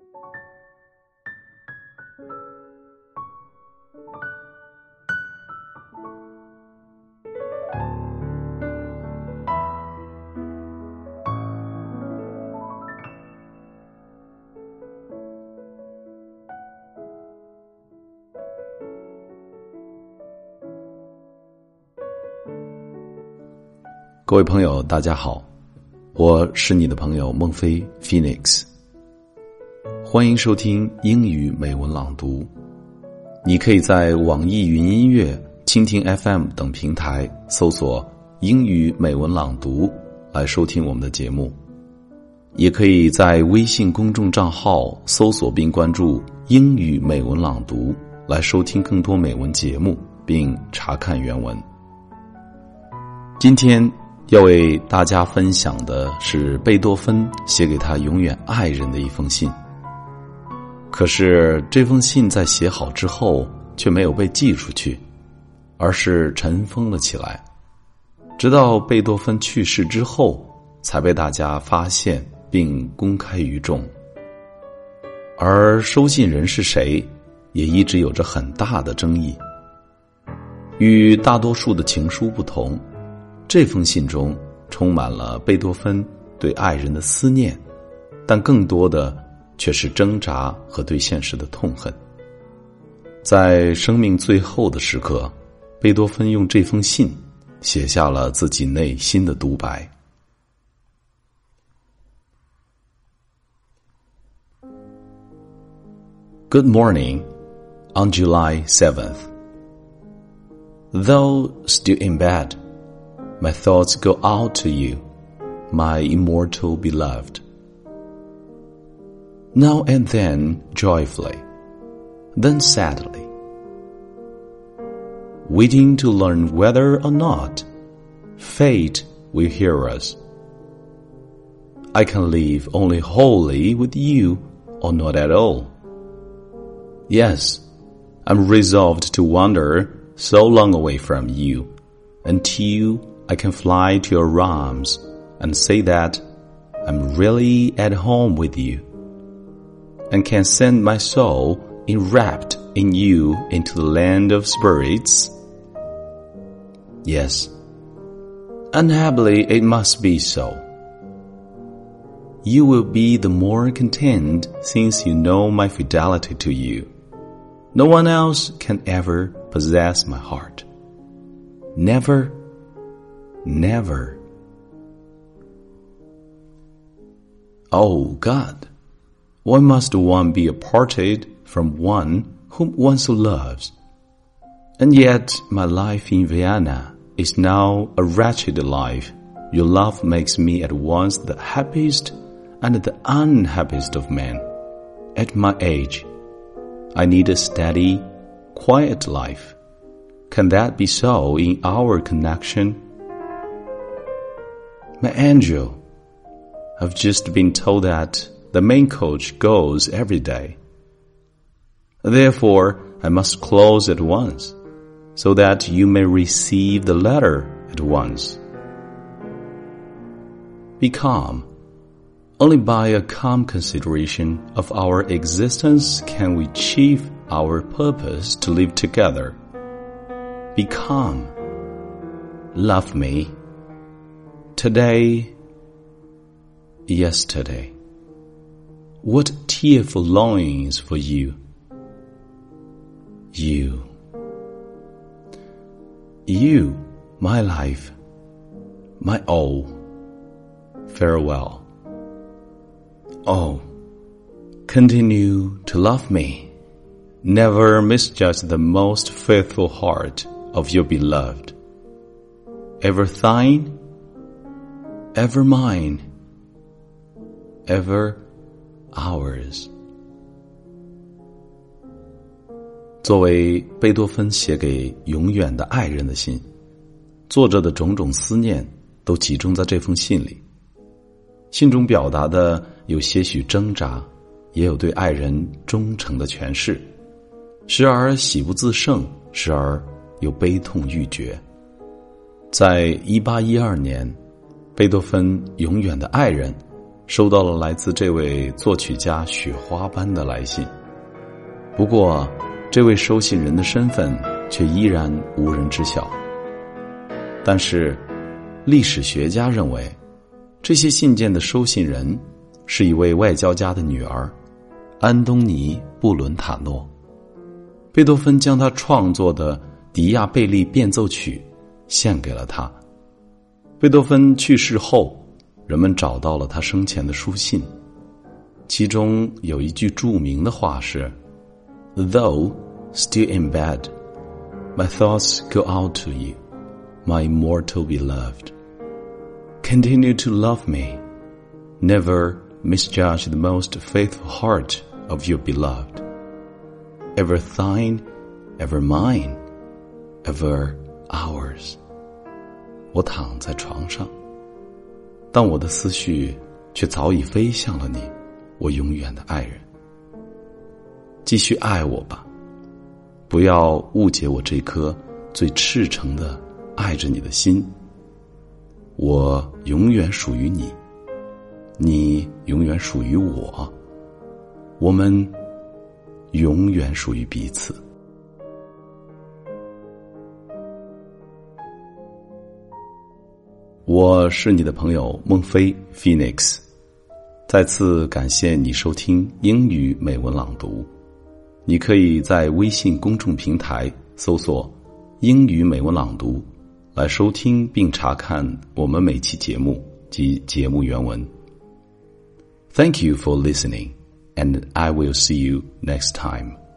各位朋友大家好，我是你的朋友孟非 Phoenix， 欢迎收听英语美文朗读。你可以在网易云音乐、蜻蜓 FM 等平台搜索英语美文朗读来收听我们的节目，也可以在微信公众账号搜索并关注英语美文朗读来收听更多美文节目并查看原文。今天要为大家分享的是贝多芬写给他永远爱人的一封信。可是这封信在写好之后却没有被寄出去，而是尘封了起来，直到贝多芬去世之后才被大家发现并公开于众。而收信人是谁也一直有着很大的争议。与大多数的情书不同，这封信中充满了贝多芬对爱人的思念，但更多的却是挣扎和对现实的痛恨。在生命最后的时刻，贝多芬用这封信写下了自己内心的独白。Good morning, on July 7th. Though still in bed,My thoughts go out to you, my immortal beloved. Now and then joyfully, then sadly, waiting to learn whether or not fate will hear us. I can live only wholly with you or not at all. Yes, I'm resolved to wander so long away from you until I can fly to your arms and say that I'm really at home with you, and can send my soul enwrapped in you into the land of spirits. Yes, unhappily it must be so. You will be the more content since you know my fidelity to you. No one else can ever possess my heart. Never.Never. Oh God, why must one be parted from one whom one so loves? And yet my life in Vienna is now a wretched life. Your love makes me at once the happiest and the unhappiest of men. At my age, I need a steady, quiet life. Can that be so in our connection?My angel, I've just been told that the main coach goes every day. Therefore, I must close at once, so that you may receive the letter at once. Be calm. Only by a calm consideration of our existence can we achieve our purpose to live together. Be calm. Love me.Today, yesterday, what tearful longings for you. You, my life, my all. Farewell. Oh, continue to love me. Never misjudge the most faithful heart of your beloved. Ever thine?Ever mine, ever ours. 作为贝多芬写给永远的爱人的信，作者的种种思念都集中在这封信里。信中表达的有些许挣扎，也有对爱人忠诚的诠释，时而喜不自胜，时而又悲痛欲绝。在1812年，贝多芬永远的爱人收到了来自这位作曲家雪花般的来信。不过，这位收信人的身份却依然无人知晓。但是，历史学家认为，这些信件的收信人是一位外交家的女儿，安东尼·布伦塔诺。贝多芬将他创作的迪亚贝利变奏曲献给了他。贝多芬去世后，人们找到了他生前的书信，其中有一句著名的话是 Though still in bed, my thoughts go out to you, my immortal beloved. Continue to love me. Never misjudge the most faithful heart of your beloved. Ever thine, ever mine, ever ours. 我躺在床上，但我的思绪却早已飞向了你，我永远的爱人。继续爱我吧，不要误解我这颗最赤诚的爱着你的心。我永远属于你，你永远属于我，我们永远属于彼此。我是你的朋友孟非 Phoenix， 再次感谢你收听英语美文朗读。你可以在微信公众平台搜索英语美文朗读来收听并查看我们每期节目及节目原文。Thank you for listening, and I will see you next time.